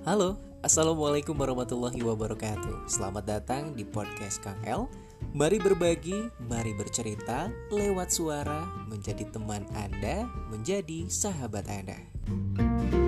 Halo, Assalamualaikum warahmatullahi wabarakatuh. Selamat datang di podcast Kang El. Mari berbagi, mari bercerita lewat suara, menjadi teman Anda, menjadi sahabat Anda.